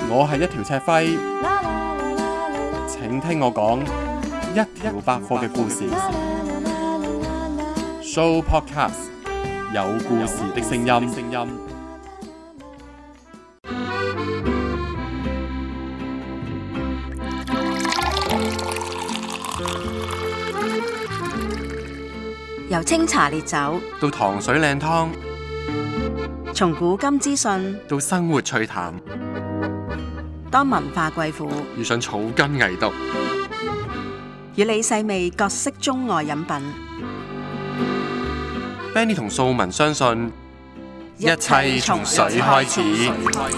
我係一條赤輝，請聽我講一條百貨嘅故事。Show Podcast 有故事的聲音。 由清茶烈酒到糖水靚湯， 從古今資訊到生活趣談， 當文化貴婦遇上草根藝毒， 與你細味各式中外飲品。 Benny 同素文相信，一切從水開始。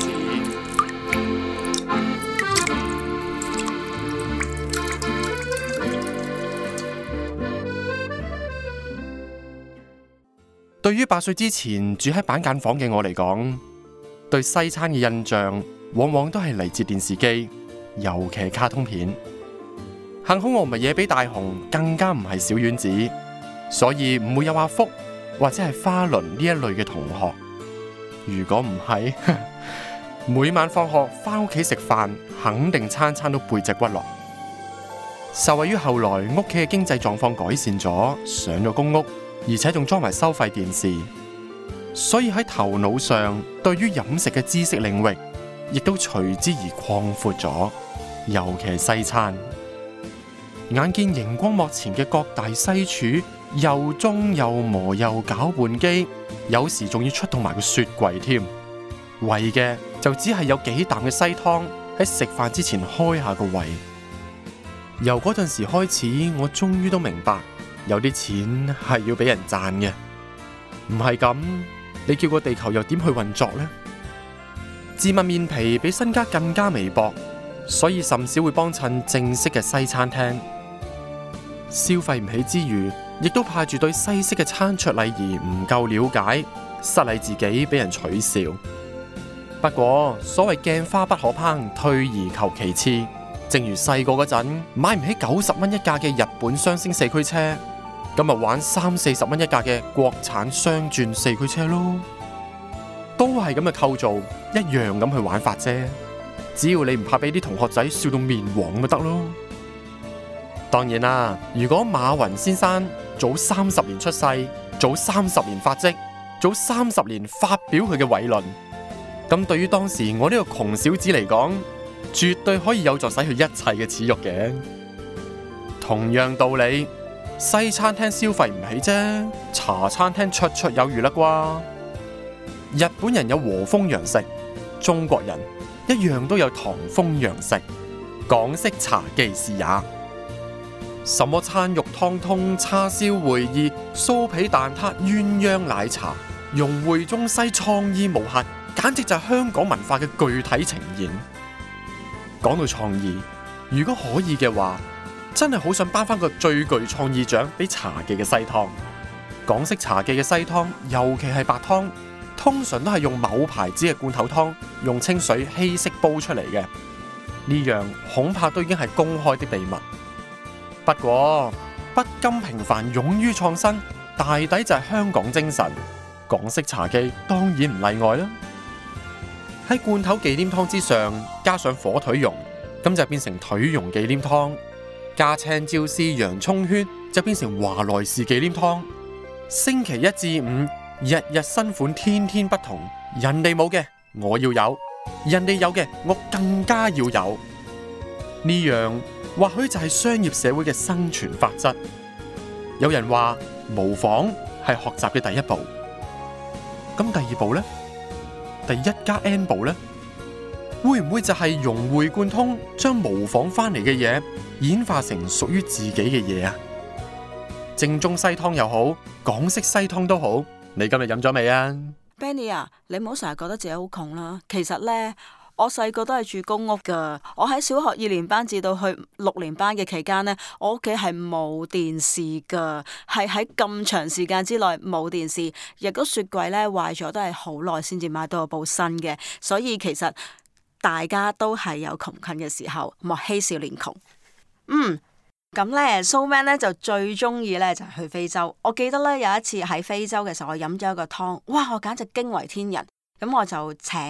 對於8歲之前住喺板間房嘅我嚟講，對西餐嘅印象往往都係嚟自電視機，尤其係卡通片。幸好我唔係野比大雄，更加唔係小丸子，所以唔會有阿福或者係花輪呢一類嘅同學。如果唔係，每晚放學返屋企食飯，肯定餐餐都背脊骨落。受惠於後來屋企嘅經濟狀況改善咗，上咗公屋，而且仲裝埋收費電視，所以喺頭腦上對於飲食嘅知識領域亦都隨之而擴闊咗，尤其係西餐。眼見熒光幕前嘅各大西廚又舂又磨又攪拌機，有時仲要出動埋個雪櫃添，為嘅就只係有幾啖嘅西湯喺食飯之前開下個胃。由嗰陣時開始，我終於都明白，有啲錢係要俾人賺嘅，唔係咁，你叫個地球又點去運作呢？自問面皮比身家更加微薄，所以甚少會幫襯正式嘅西餐廳。消費唔起之餘，亦都怕住對西式嘅餐桌禮儀唔夠了解，失禮自己俾人取笑。不過所謂鏡花不可烹，退而求其次。正如細個嗰陣買唔起90蚊一架嘅日本雙星四驅車，咁咪玩30-40蚊一架嘅國產雙轉四驅車咯，都係咁嘅構造，一樣咁去玩法啫。只要你唔怕俾啲同學仔笑到面黃咪得咯。當然啦，如果馬雲先生早30年出世，早30年發跡，早30年發表佢嘅偉論，咁對於當時我呢個窮小子嚟講，絕對可以有助洗去一切嘅恥辱嘅。同樣道理，西餐廳消費唔起啫，茶餐廳綽綽有餘啦啩。日本人有和風洋食，中國人一樣都有唐風洋食。港式茶記是也。什麼餐肉湯通、叉燒會意、酥皮蛋撻、鴛鴦奶茶，融匯中西，創意無限，簡直就係香港文化嘅具體呈現。講到創意，如果可以嘅話，真係好想頒翻個最具創意獎俾茶記嘅西湯。港式茶記嘅西湯，尤其係白湯，通常都係用某牌子嘅罐頭湯，用清水稀釋煲出嚟嘅。呢樣恐怕都已經係公開的秘密。不過不甘平凡，勇於創新，大抵就係香港精神。港式茶記當然唔例外啦。喺罐頭忌廉湯之上加上火腿蓉，咁就變成腿蓉忌廉湯；加青椒絲、洋葱圈就變成華萊士忌廉湯。星期一至五，日日新款，天天不同。人哋冇嘅我要有，人哋有嘅我更加要有。呢樣或許就係商業社會嘅生存法則。有人話模仿係學習嘅第一步，咁第二步呢？第1+N 步呢？會唔會就係融會貫通，將模仿翻嚟嘅嘢演化成屬於自己嘅嘢啊？正宗西湯又好，港式西湯都好，你今日飲咗未啊 Benny 啊，你唔好成日覺得自己好窮啦。其實呢，我細個都係住公屋噶。我喺小學2年班至到去6年班嘅期間呢，我屋企係冇電視噶，係喺咁長時間之內冇電視，亦都雪櫃呢壞咗都係好耐先至買到一部新嘅。所以其實大家都係有窮困嘅時候，莫欺少年窮。咁咧，Soman 咧就最中意咧就係去非洲。我記得咧有一次喺非洲嘅時候，我飲咗一個湯，哇！我簡直驚為天人。咁我就請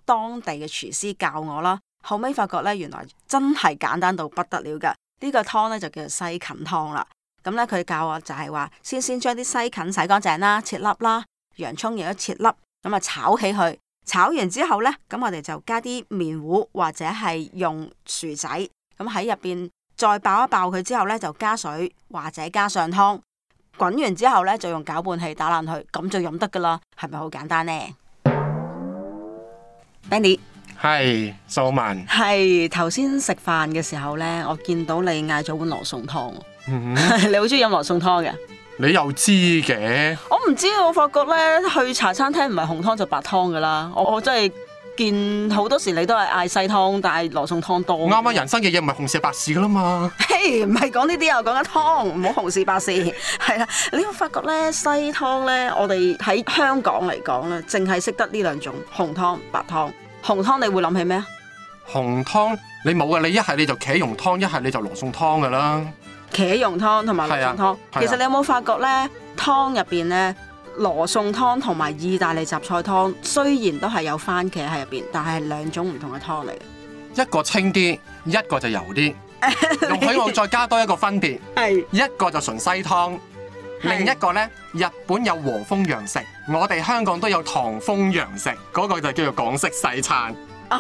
當地嘅廚師教我啦。後尾發覺咧，原來真係簡單到不得了㗎。呢個湯咧就叫做西芹湯啦。咁咧佢教我就係話，先將啲西芹洗乾淨啦，切粒啦，洋葱亦都切粒，咁啊炒起佢。炒完之後咧，咁我哋就加啲麵糊或者係用薯仔，咁喺入邊再爆一爆佢之後咧，就加水或者加上湯。滾完之後咧，就用攪拌器打爛佢，咁就飲得噶啦。係咪好簡單呢？ Benny 係素文， 係頭先食飯嘅時候咧，我見到你嗌咗碗羅宋湯。 嗯、 你好中意飲羅宋湯嘅？ 你又知嘅？ 我唔知，我發覺咧去茶餐廳唔係紅湯就白湯噶啦。我真係見好多時你都係嗌西湯，但係羅宋湯多。 啱啱人生嘅嘢唔係紅事白事噶啦嘛。 嘿，唔係講呢啲啊，講緊湯，唔好紅事白事。係啦，你會發覺咧西湯咧，我哋喺香港嚟講咧，淨係識得呢兩種紅湯、白湯。紅湯你會諗起咩啊？ 紅湯你冇嘅，你一係你就茄蓉湯，一係你就羅宋湯噶啦。 茄蓉湯同埋羅宋湯，其實你有冇發覺咧？湯入邊咧，羅宋湯同埋意大利雜菜湯，雖然都係有番茄喺入邊，但係兩種唔同嘅湯嚟嘅。 一個清啲，一個就油啲。容許我再加多一個分別， 係一個就純西湯，另一個呢，日本有和風洋食，我哋香港都有唐風洋食，嗰個就叫做港式西餐。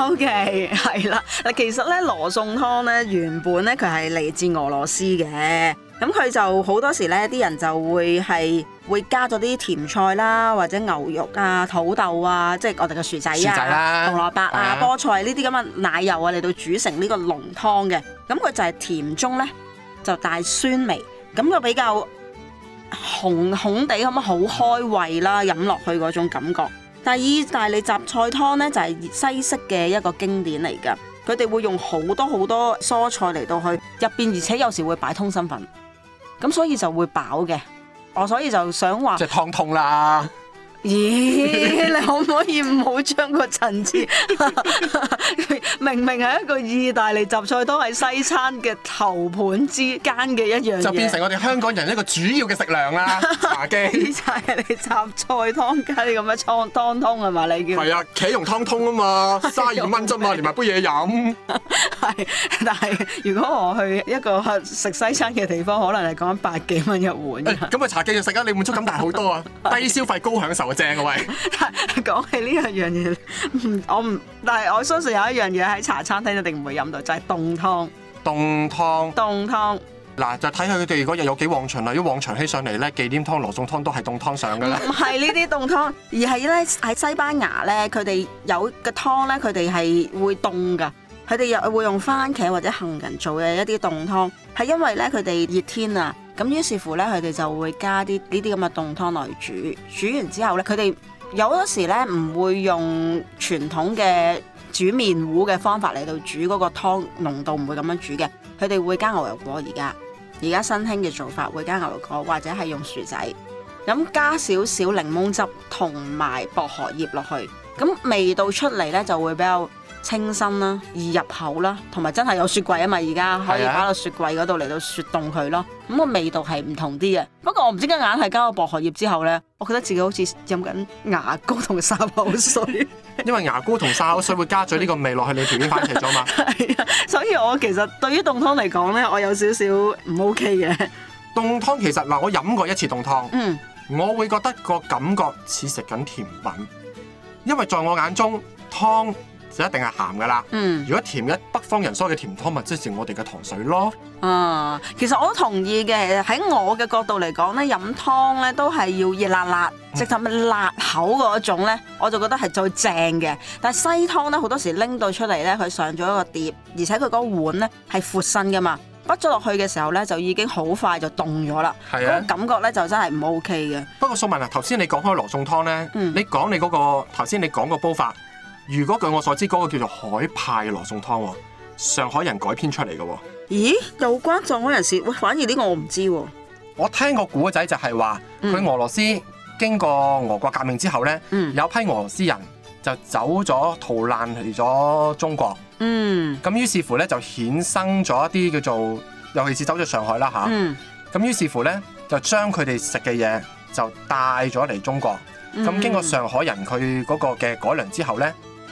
OK， 係啦。嗱，其實咧羅宋湯咧原本咧佢係嚟自俄羅斯嘅，咁佢就好多時咧啲人就會加咗啲甜菜啦，或者牛肉啊、土豆啊，即係我哋嘅薯仔啊、紅蘿蔔啊、菠菜呢啲咁嘅奶油啊嚟到煮成呢個濃湯嘅。咁佢就係甜中咧就帶酸味，咁就比較紅地咁樣好開胃啦，飲落去嗰種感覺。但係意大利雜菜湯咧就係西式嘅一個經典嚟㗎，佢哋會用好多蔬菜嚟到去入邊，而且有時會擺通心粉，咁所以就會飽嘅。我所以就想話， 即係湯通啦。 咦？你可唔可以唔好將個層次？明明係一個意大利雜菜湯，係西餐嘅頭盤之間嘅一樣嘢， 就變成我哋香港人一個主要嘅食糧啦。茶記意大利雜菜湯加啲咁嘅湯通係嘛？你叫係啊，茄蓉湯通啊嘛，32蚊啫嘛，連埋杯嘢飲。 係，但係如果我去一個食西餐嘅地方，可能係講緊百幾蚊一碗。 咁啊茶記就食啊，你滿足感大好多啊，低消費高享受啊，正啊喂！ 講起呢樣嘢，但係我相信有一樣嘢喺茶餐廳一定唔會飲到，就係凍湯。凍湯嗱，就睇下佢哋嗰日有幾旺場啦。如果旺場起上嚟咧，忌廉湯、羅宋湯都係凍湯上噶啦。 唔係呢啲凍湯，而係咧喺西班牙咧，佢哋有嘅湯咧，佢哋係會凍噶。佢哋又會用番茄或者杏仁做嘅一啲凍湯，係因為咧佢哋熱天啊，咁於是乎咧佢哋就會加啲呢啲咁嘅凍湯落去煮完之後咧，佢哋有好多時咧唔會用傳統嘅煮麵糊嘅方法嚟到煮嗰個湯濃度，唔會咁樣煮嘅，佢哋會加牛油果。而家新興嘅做法會加牛油果或者係用薯仔，咁加少少檸檬汁同埋薄荷葉落去，咁味道出嚟咧就會比較清新啦，易入口啦，同埋真係有雪櫃啊嘛，而家可以擺到雪櫃嗰度嚟到雪凍佢咯。咁個味道係唔同啲嘅。不過我唔知點解硬係加個薄荷葉之後咧，我覺得自己好似飲緊牙膏同沙口水。 因為牙膏同沙口水會加咗呢個味落去你條件番茄咗嘛。 係啊，所以我其實對於凍湯嚟講咧，我有少少唔 OK 嘅。 凍湯其實嗱，我飲過一次凍湯，我會覺得個感覺似食緊甜品，因為在我眼中湯就一定係鹹噶啦。如果甜嘅北方人所謂嘅甜湯，咪即係我哋嘅糖水咯。 其實我都同意嘅。喺我嘅角度嚟講咧，飲湯咧都係要熱辣辣，直頭咪辣口嗰種咧，我就覺得係最正嘅。但係西湯咧，好多時拎到出嚟咧，佢上咗一個碟，而且佢嗰個碗咧係闊身噶嘛，畢咗落去嘅時候咧，就已經好快就凍咗啦。嗰個感覺咧就真係唔 OK 嘅。 不過素文啊，頭先你講開羅宋湯咧，你講你嗰個頭先你講個煲法。如果據我所知，嗰個叫做海派羅宋湯喎，上海人改編出嚟嘅喎。 咦？有關上海人士？喂，反而呢個我唔知喎。 我聽個古仔就係話，佢俄羅斯經過俄國革命之後咧，有批俄羅斯人就走咗逃難嚟咗中國。咁於是乎咧就衍生咗一啲叫做，尤其是走咗上海啦嚇。咁於是乎咧就將佢哋食嘅嘢就帶咗嚟中國。咁經過上海人佢嗰個嘅改良之後咧，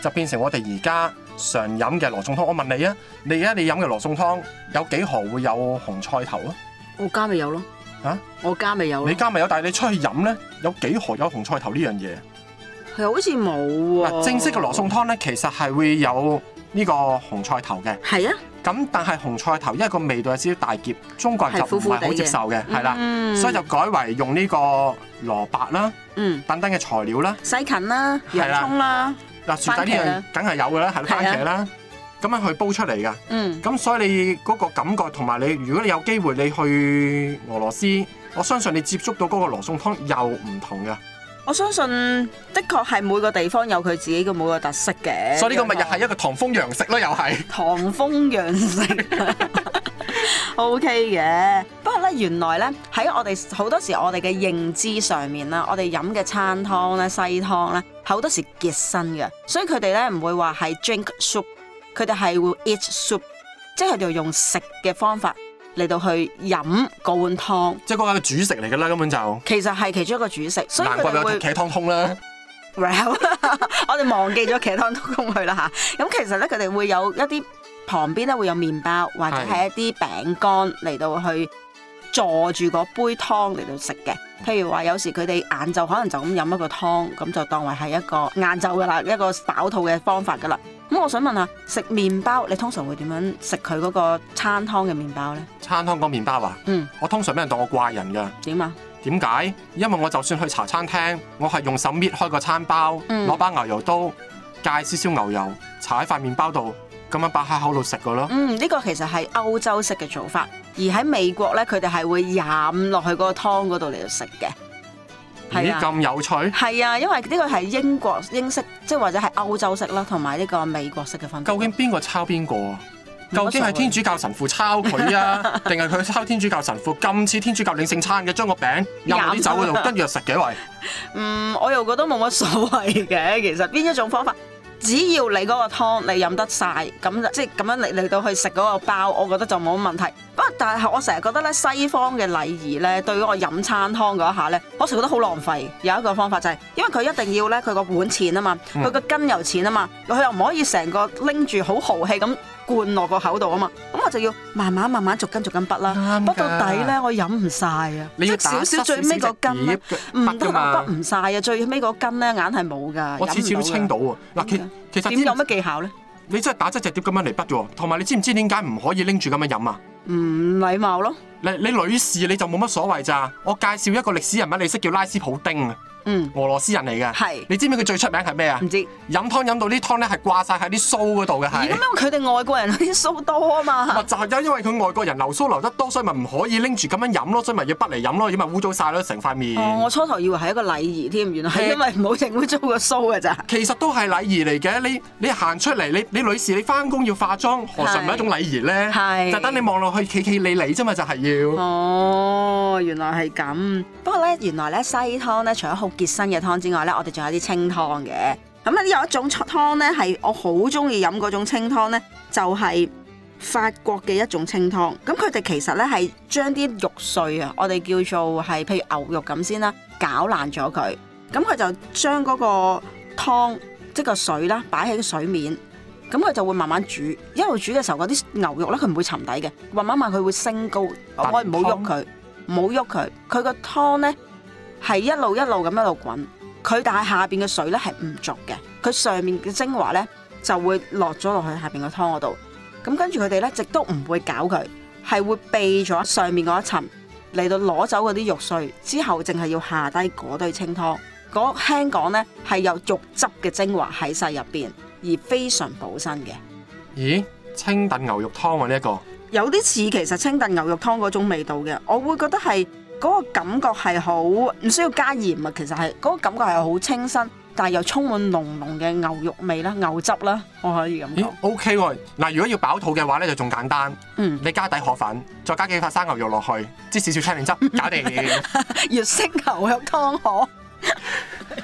就變成我哋而家常飲嘅羅宋湯。我問你啊，你而家你飲嘅羅宋湯有幾何會有紅菜頭啊？ 我家咪有咯。 嚇？ 我家咪有咯。 你家咪有，但係你出去飲咧，有幾何有紅菜頭呢樣嘢？ 係好似冇喎。 正式嘅羅宋湯咧，其實係會有呢個紅菜頭嘅。 係啊。 咁但係紅菜頭因為個味道有少少大澀，中國人就唔係好接受嘅，係啦，所以就改為用呢個蘿蔔啦，等等嘅材料啦， 西芹啦、洋葱啦。 嗱，薯仔呢樣梗係有㗎啦，係番茄啦，咁樣去煲出嚟㗎。咁所以你嗰個感覺同埋你，如果你有機會你去俄羅斯，我相信你接觸到嗰個羅宋湯又唔同㗎。 我相信的確係每個地方有佢自己嘅每個特色嘅。 所以呢個咪又係一個唐風洋食咯，又係。 唐風洋食。OK 嘅，不過咧原來咧喺我哋好多時我哋嘅認知上面啦，我哋飲嘅餐湯咧、西湯咧，好多時結身嘅，所以佢哋咧唔會話係 drink soup， 佢哋係會 eat soup， 即係佢哋用食嘅方法嚟到去飲嗰碗湯， 即係嗰個主食嚟㗎啦，根本就。 其實係其中一個主食，所以難怪有茄湯通啦。 Well， 我哋忘記咗茄湯通去啦嚇。咁其實咧佢哋會有一啲。旁邊咧會有麵包或者係一啲餅乾嚟到去坐住嗰杯湯嚟到食嘅。譬如話有時佢哋晏晝可能就咁飲一個湯，咁就當為係一個晏晝噶啦，一個飽肚嘅方法噶啦。咁我想問下，食麵包你通常會點樣食佢嗰個餐湯嘅麵包呢？餐湯嗰麵包啊？我通常俾人當我怪人㗎。點啊？點解？因為我就算去茶餐廳，我係用手搣開個餐包，攞把牛油刀，介少少牛油，搽喺塊麵包度。咁樣擺喺口度食個咯。呢個其實係歐洲式嘅做法，而喺美國咧，佢哋係會飲落去嗰個湯嗰度嚟到食嘅。咦，咁有趣？係啊，因為呢個係英式，即係或者係歐洲式啦，同埋呢個美國式嘅分別。究竟邊個抄邊個啊？究竟係天主教神父抄佢啊，定係佢抄天主教神父？咁似天主教領聖餐嘅，將個餅入啲酒嗰度，跟住就食幾圍。我又覺得冇乜所謂嘅，其實邊一種方法。只要你嗰個湯你飲得晒，咁即係咁樣嚟到去食嗰個包，我覺得就冇乜問題。不過但係我成日覺得咧，西方嘅禮儀咧，對於我飲餐湯嗰一下咧，我成日覺得好浪費。有一個方法就係，因為佢一定要咧，佢個碗淺啊嘛，佢個羹又淺啊嘛，佢又唔可以成個拎住好豪氣咁灌落個口度啊嘛，咁我就要慢慢逐根筆啦。筆到底咧，我飲唔晒啊！你要少少最尾個羹咧，唔得啊，筆唔晒啊！最尾個羹咧，硬係冇㗎。我次次都清到喎。嗱，其實點有乜技巧咧？你真係打側隻碟咁樣嚟筆喎，同埋你知唔知點解唔可以拎住咁樣飲啊？唔禮貌咯。你女士你就冇乜所謂咋？我介紹一個歷史人物，你識叫拉斯普丁啊？俄羅斯人嚟嘅。係。你知唔知佢最出名係咩啊？唔知。飲湯飲到啲湯咧係掛晒喺啲鬚嗰度嘅係。咁樣佢哋外國人啲鬚多啊嘛。就係因為佢外國人留鬚留得多，所以咪唔可以拎住咁樣飲咯，所以咪要筆嚟飲咯，如果咪污糟晒咯成塊面。我初頭以為係一個禮儀添，原來係因為唔好整污糟個鬚㗎咋。其實都係禮儀嚟嘅，你行出嚟，你女士你翻工要化妝，何嘗唔係一種禮儀咧？係。就等你望落去企企理理啫嘛，就係要。哦，原來係咁。不過咧，原來咧西湯咧，除咗好結身嘅湯之外咧，我哋仲有啲清湯嘅。咁咧有一種湯咧係我好中意飲嗰種清湯咧，就係法國嘅一種清湯。咁佢哋其實咧係將啲肉碎啊，我哋叫做係譬如牛肉咁先啦，攪爛咗佢。咁佢就將嗰個湯即個水啦，擺喺個水面。咁佢就會慢慢煮，一路煮嘅時候嗰啲牛肉咧佢唔會沉底嘅，慢慢佢會升高。我唔好喐佢，唔好喐佢。佢個湯咧係一路咁一路滾，佢但係下邊嘅水咧係唔濁嘅，佢上面嘅精華咧就會落咗落去下邊個湯嗰度。咁跟住佢哋咧，直都唔會攪佢，係會避咗上面嗰一層嚟到攞走嗰啲肉碎，之後淨係要下低嗰堆清湯。嗰輕講咧係有肉汁嘅精華喺晒入邊。而非常補身嘅。咦？清燉牛肉湯喎呢一個。有啲似其實清燉牛肉湯嗰種味道嘅，我會覺得係嗰個感覺係好唔需要加鹽啊，其實係嗰個感覺係好清新，但係又充滿濃濃嘅牛肉味啦、牛汁啦，我可以咁講。OK 喎，嗱，如果要飽肚嘅話咧就仲簡單，你加底河粉，再加幾塊生牛肉落去，擠少少青檸汁，搞掂。粵式牛肉湯河。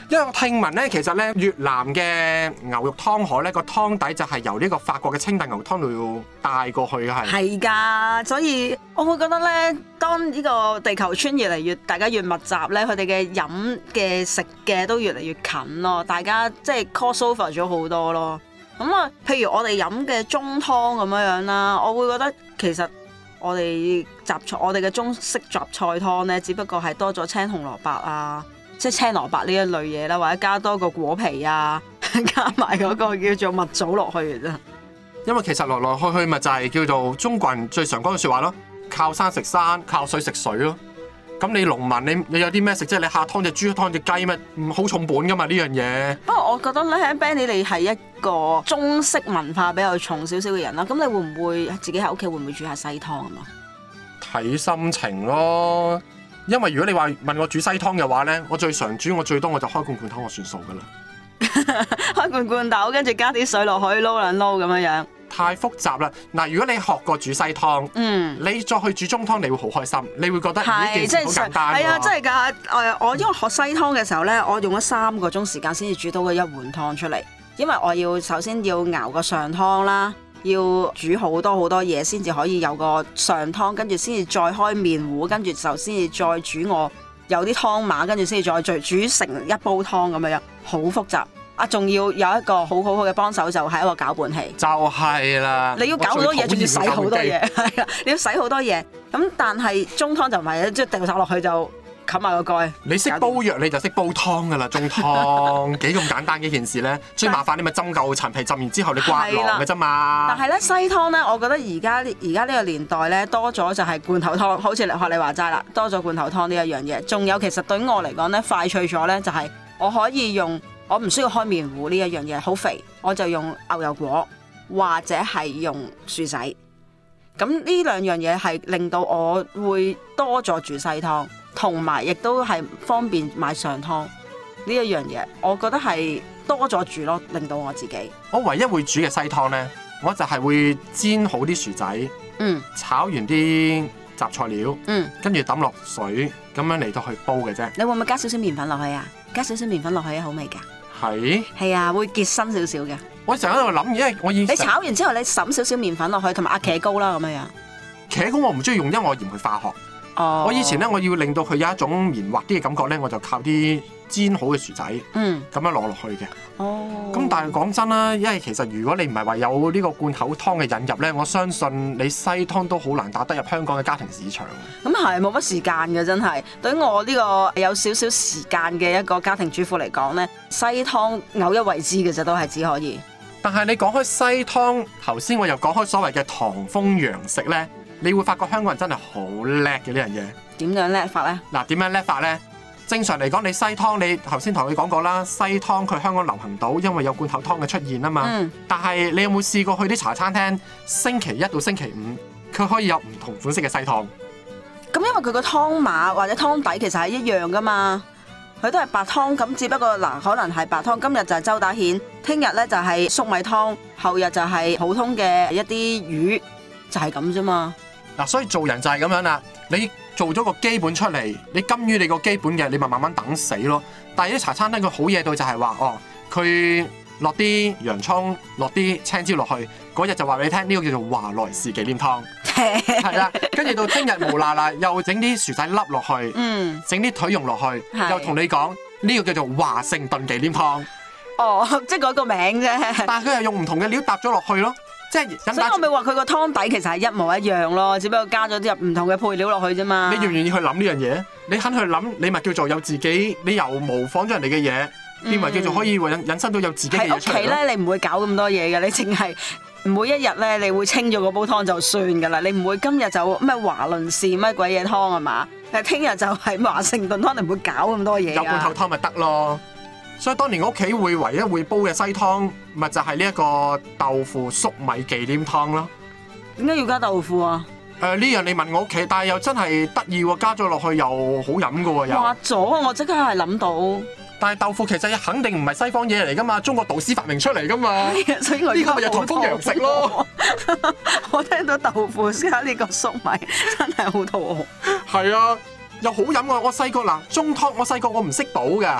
因為我聽聞咧，其實咧越南嘅牛肉湯河咧個湯底就係由呢個法國嘅清燉牛湯度帶過去嘅係。 係㗎，所以我會覺得咧，當呢個地球村越嚟越大家越密集咧，佢哋嘅飲嘅食嘅都越嚟越近咯，大家即係 cross over 咗好多咯。咁啊，譬如我哋飲嘅中湯咁樣啦，我會覺得其實我哋嘅中式雜菜湯咧，只不過係多咗青紅蘿蔔啊，即係青蘿蔔呢一類嘢啦，或者加多個果皮啊，加埋嗰個叫做蜜棗落去嘅啫。 因為其實來來去去咪就係叫做中國人最常講嘅説話咯，靠山食山，靠水食水咯。咁你農民你有啲咩食啫？你下湯隻豬湯隻雞咩？好重本噶嘛呢樣嘢。 不過我覺得咧，Benny 你係一個中式文化比較重少少嘅人啦。咁你會唔會自己喺屋企會唔會煮下西湯啊嘛？ 睇心情咯。因為如果你話問我煮西湯嘅話咧，我最常煮我最多我就開罐湯我算數噶啦。 開罐頭跟住加啲水落去撈兩撈咁樣樣。 太複雜啦！嗱，如果你學過煮西湯，你再去煮中湯，你會好開心，你會覺得呢件事好簡單喎。係啊， 真係㗎！我因為學西湯嘅時候咧，我用咗3個鐘時間先至煮到嗰一碗湯出嚟，因為我要首先要熬個上湯啦，要煮好多嘢先至可以有個上湯，跟住先至再開麵糊，跟住就先至再煮我有啲湯碼，跟住先至再煮成一煲湯咁樣，好複雜。仲要有一個好嘅幫手，就係一個攪拌器。就係啦，你要搞好多嘢，仲要洗好多嘢，係啊，你要洗好多嘢。咁但係中湯就唔係，即係掉晒落去就冚埋個蓋。你識煲藥你就識煲湯噶啦，中湯幾咁簡單嘅一件事咧。最麻煩你咪浸夠陳皮，浸完之後你刮囊嘅啫嘛。但係咧西湯咧，我覺得而家呢個年代咧多咗就係罐頭湯，好似學你話齋啦，多咗罐頭湯呢一樣嘢。仲有其實對於我嚟講咧，快脆咗咧就係我可以用。我唔需要開麵糊呢一樣嘢，好肥，我就用牛油果或者係用薯仔。咁呢兩樣嘢係令到我會多咗煮西湯，同埋亦都係方便買上湯呢一樣嘢。我覺得係多咗煮咯，令到我自己。我唯一會煮嘅西湯呢，我就係會煎好啲薯仔，炒完啲雜菜料，跟住抌落水，咁樣嚟到去煲嘅啫。你會唔會加少少麵粉落去啊？加少少麵粉落去好味㗎。係啊，會結身少少嘅。我成日喺度諗，因為我你炒完之後，你揼少少麵粉落去，同埋阿茄膏啦咁樣樣。茄膏我唔中意用，因為我嫌佢化學。我以前咧，我要令到佢有一種綿滑啲嘅感覺咧，我就靠啲煎好嘅薯仔，咁樣落去嘅。咁但係講真啦，因為其實如果你唔係話有呢個罐頭湯嘅引入咧，我相信你西湯都好難打得入香港嘅家庭市場。咁係冇乜時間嘅，真係。對於我呢個有少少時間嘅一個家庭主婦嚟講咧，西湯偶一為之嘅啫，都係只可以。但係你講開西湯，頭先我又講開所謂嘅唐風洋食咧。你會發覺香港人真係好叻嘅呢樣嘢。點樣叻法呢？嗱，點樣叻法呢？正常嚟講，你西湯你頭先同你講過啦，西湯佢香港流行到，因為有罐頭湯嘅出現啊嘛。但係你有冇試過去啲茶餐廳，星期一到星期五，佢可以有唔同款式嘅西湯？咁因為佢個湯碼或者湯底其實係一樣噶嘛，佢都係白湯，咁只不過嗱，可能係白湯，今日就係周打蜆，聽日呢就係粟米湯，後日就係普通嘅一啲魚，就係咁啫嘛。嗱，所以做人就係咁樣啦。你做咗個基本出嚟，你甘於你個基本嘅，你咪慢慢等死咯。但係啲茶餐廳佢好嘢到就係話，佢落啲洋葱，落啲青椒落去，嗰日就話俾你聽，呢個叫做華萊士忌廉湯，係啦。跟住到聽日無啦啦又整啲薯仔粒落去，整啲腿蓉落去，又同你講呢個叫做華盛頓忌廉湯。即係嗰個名啫。但係佢又用唔同嘅料搭咗落去咯。即係，所以我咪話佢個湯底其實係一模一樣咯，只不過加咗啲唔同嘅配料落去啫嘛。你願唔願意去諗呢樣嘢？你肯去諗，你咪叫做有自己，你又模仿咗人哋嘅嘢，變為叫做可以引申到有自己嘅嘢出嚟。喺屋企咧，你唔會搞咁多嘢嘅，你淨係每一日咧，你會清咗個煲湯就算㗎啦。你唔會今日就咩華倫士乜鬼嘢湯係嘛？但係聽日就係華盛頓湯，你唔會搞咁多嘢。有罐頭湯咪得咯。所以當年我屋企唯一會煲嘅西湯，咪就係呢一個豆腐粟米忌廉湯咯。點解要加豆腐啊？呢樣你問我屋企，但係又真係得意喎，加咗落去又好飲㗎喎又。滑咗，我即刻係諗到。但係豆腐其實肯定唔係西方嘢嚟㗎嘛，中國導師發明出嚟㗎嘛。所以我呢個咪就唐風洋食咯。我聽到豆腐加呢個粟米，真係好肚餓。係啊，又好飲啊！我細個嗱中湯，我細個我唔識倒㗎。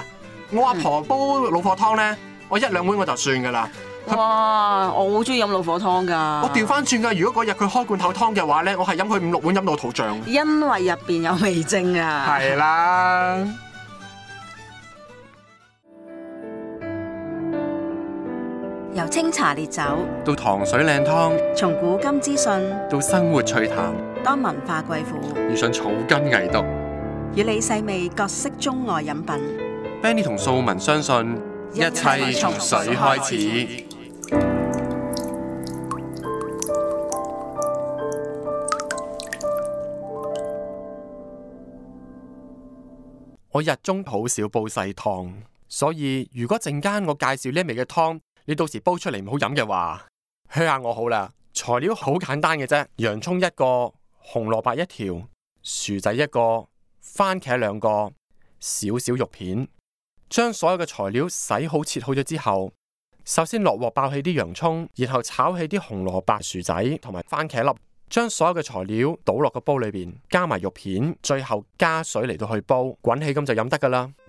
我阿婆煲老火湯咧，我1-2碗我就算噶啦。 哇！我好中意飲老火湯㗎。 我調翻轉㗎，如果嗰日佢開罐頭湯嘅話咧，我係飲佢5-6碗飲到肚脹。 因為入邊有味精啊。 係啦。 由清茶烈酒到糖水靚湯， 從古今資訊到生活趣談， 當文化貴婦遇上草根藝毒， 與你細味各式中外飲品。 Benny 同素文相信，一切從水開始。我日中好少煲細湯，所以如果陣間我介紹呢一味嘅湯，你到時煲出嚟唔好飲嘅話，噓下我好啦。材料好簡單嘅啫，洋葱1個，紅蘿蔔1條，薯仔1個，番茄2個，少少肉片。將所有嘅材料洗好切好咗之後，首先落鑊爆起啲洋葱，然後炒起啲紅蘿蔔、薯仔同埋番茄粒，將所有嘅材料倒落個煲裏邊，加埋肉片，最後加水嚟到去煲，滾起咁就飲得噶啦。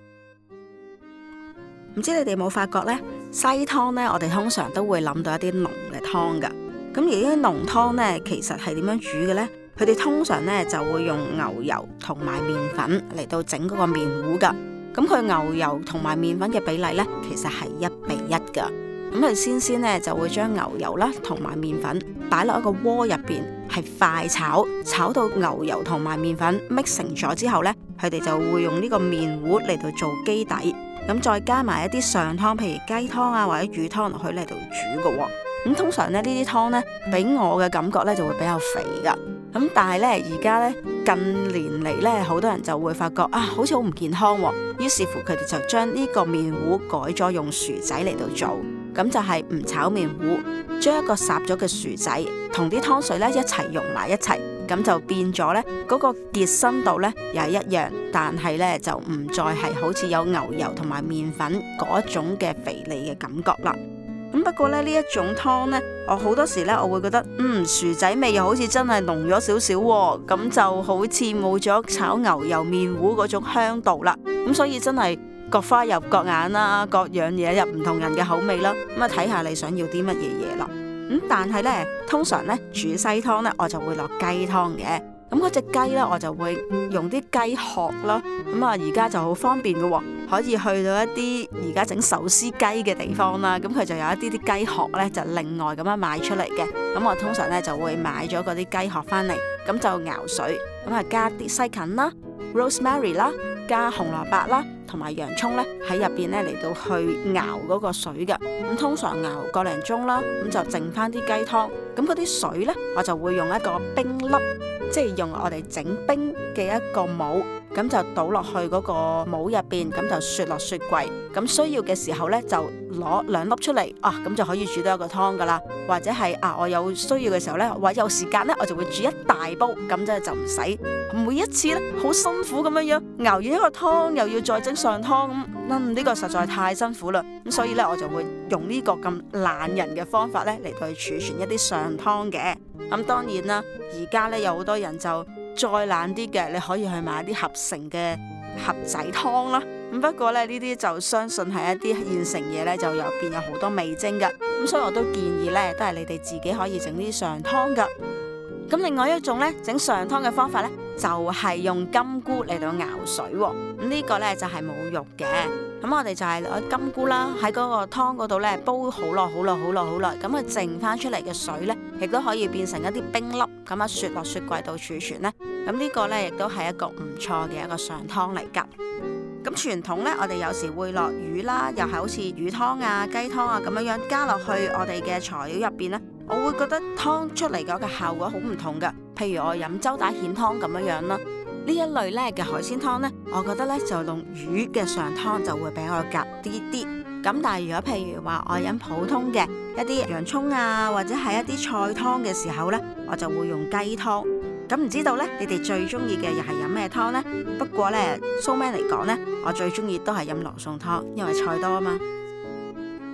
唔知你哋有冇發覺呢？西湯呢，我哋通常都會諗到一啲濃嘅湯噶。咁而呢啲濃湯呢，其實係點樣煮嘅呢？佢哋通常呢就會用牛油同埋麵粉嚟到整嗰個麵糊噶。咁佢牛油同埋麵粉嘅比例呢，其實係1:1噶。咁佢先呢就會將牛油啦同埋麵粉擺落一個鍋入邊，係快炒，炒到牛油同埋麵粉 mix 成咗之後呢，佢哋就會用呢個麵糊嚟到做基底。咁再加埋一啲上湯，譬如雞湯啊或者魚湯落去嚟度煮嘅。咁通常呢啲湯呢，俾我嘅感覺呢就會比較肥噶。咁但係呢，而家呢，近年嚟呢，好多人就會發覺啊，好似好唔健康。於是乎佢哋就將呢個麵糊改咗用薯仔嚟到做。咁就係唔炒麵糊，將一個烚咗嘅薯仔同啲湯水呢一齊溶埋一齊，咁就變咗呢嗰個結身度呢又係一樣，但係呢就唔再係好似有牛油同埋麵粉嗰一種嘅肥膩嘅感覺啦。咁不過呢一種湯呢，我好多時呢我會覺得薯仔味又好似真係濃咗少少喎，咁就好似冇咗炒牛油麵糊嗰種香度啦。咁所以真係各花入各眼啦，各樣嘢入唔同人嘅口味啦。咁啊睇下你想要啲乜嘢嘢啦。但係呢，通常呢煮西湯呢，我就會落雞湯嘅。咁嗰隻雞呢，我就會用啲雞殼啦。咁啊，而家就好方便嘅喎，可以去到一啲而家整壽司雞嘅地方啦。咁佢就有一啲啲雞殼呢，就另外咁樣賣出嚟嘅。咁我通常呢，就會買咗嗰啲雞殼翻嚟，咁就熬水，咁啊加啲西芹啦、rosemary 啦，加紅蘿蔔啦，同埋洋葱咧喺入邊咧嚟到去熬嗰個水嘅。咁通常熬個零鐘啦，咁就剩翻啲雞湯。咁嗰啲水咧，我就會用一個冰粒，即係用我哋整冰嘅一個帽，咁就倒落去嗰個帽入邊，咁就雪落雪櫃。咁需要嘅時候咧，就攞2粒出嚟，咁就可以煮到一個湯噶啦。或者係我有需要嘅時候咧，或者有時間咧，我就會煮一大煲，咁即係就唔使每一次咧好辛苦咁樣熬完一個湯，又要再整上湯咁，呢個實在太辛苦啦。咁所以咧，我就會用呢個咁懶人嘅方法咧嚟到去儲存一啲上湯嘅。咁當然啦，而家咧有好多人就再懶啲嘅，你可以去買啲合成嘅盒仔湯啦。咁不過咧，呢啲就相信係一啲現成嘢咧，就入邊有好多味精㗎。咁所以我都建議咧，都係你哋自己可以整啲上湯㗎。咁另外一種咧整上湯嘅方法咧，就係用金菇嚟到熬水喎。咁呢個咧就係冇肉嘅。咁我哋就係攞金菇啦，喺嗰個湯嗰度咧煲好耐，咁佢剩翻出嚟嘅水咧，亦都可以變成一啲冰粒，咁雪落雪櫃度儲存咧。咁呢個咧亦都係一個唔錯嘅一個上湯嚟㗎。咁傳統咧，我哋有時會落魚啦，又係好似魚湯啊、雞湯啊咁樣加落去我哋嘅材料入邊咧，我會覺得湯出嚟嗰個效果好唔同㗎。譬如我飲周打蜆湯咁樣啦，呢一類咧嘅海鮮湯咧，我覺得咧就用魚嘅上湯就會比較夾啲啲。咁但係如果譬如話我飲普通嘅一啲洋葱啊，或者係一啲菜湯嘅時候咧，我就會用雞湯。咁唔知道咧，你哋最中意嘅又係飲咩湯呢？不過咧，蘇man嚟講咧，我最中意都係飲羅宋湯，因為菜多啊嘛。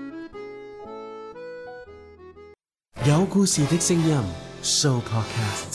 有故事的聲音 Show Podcast。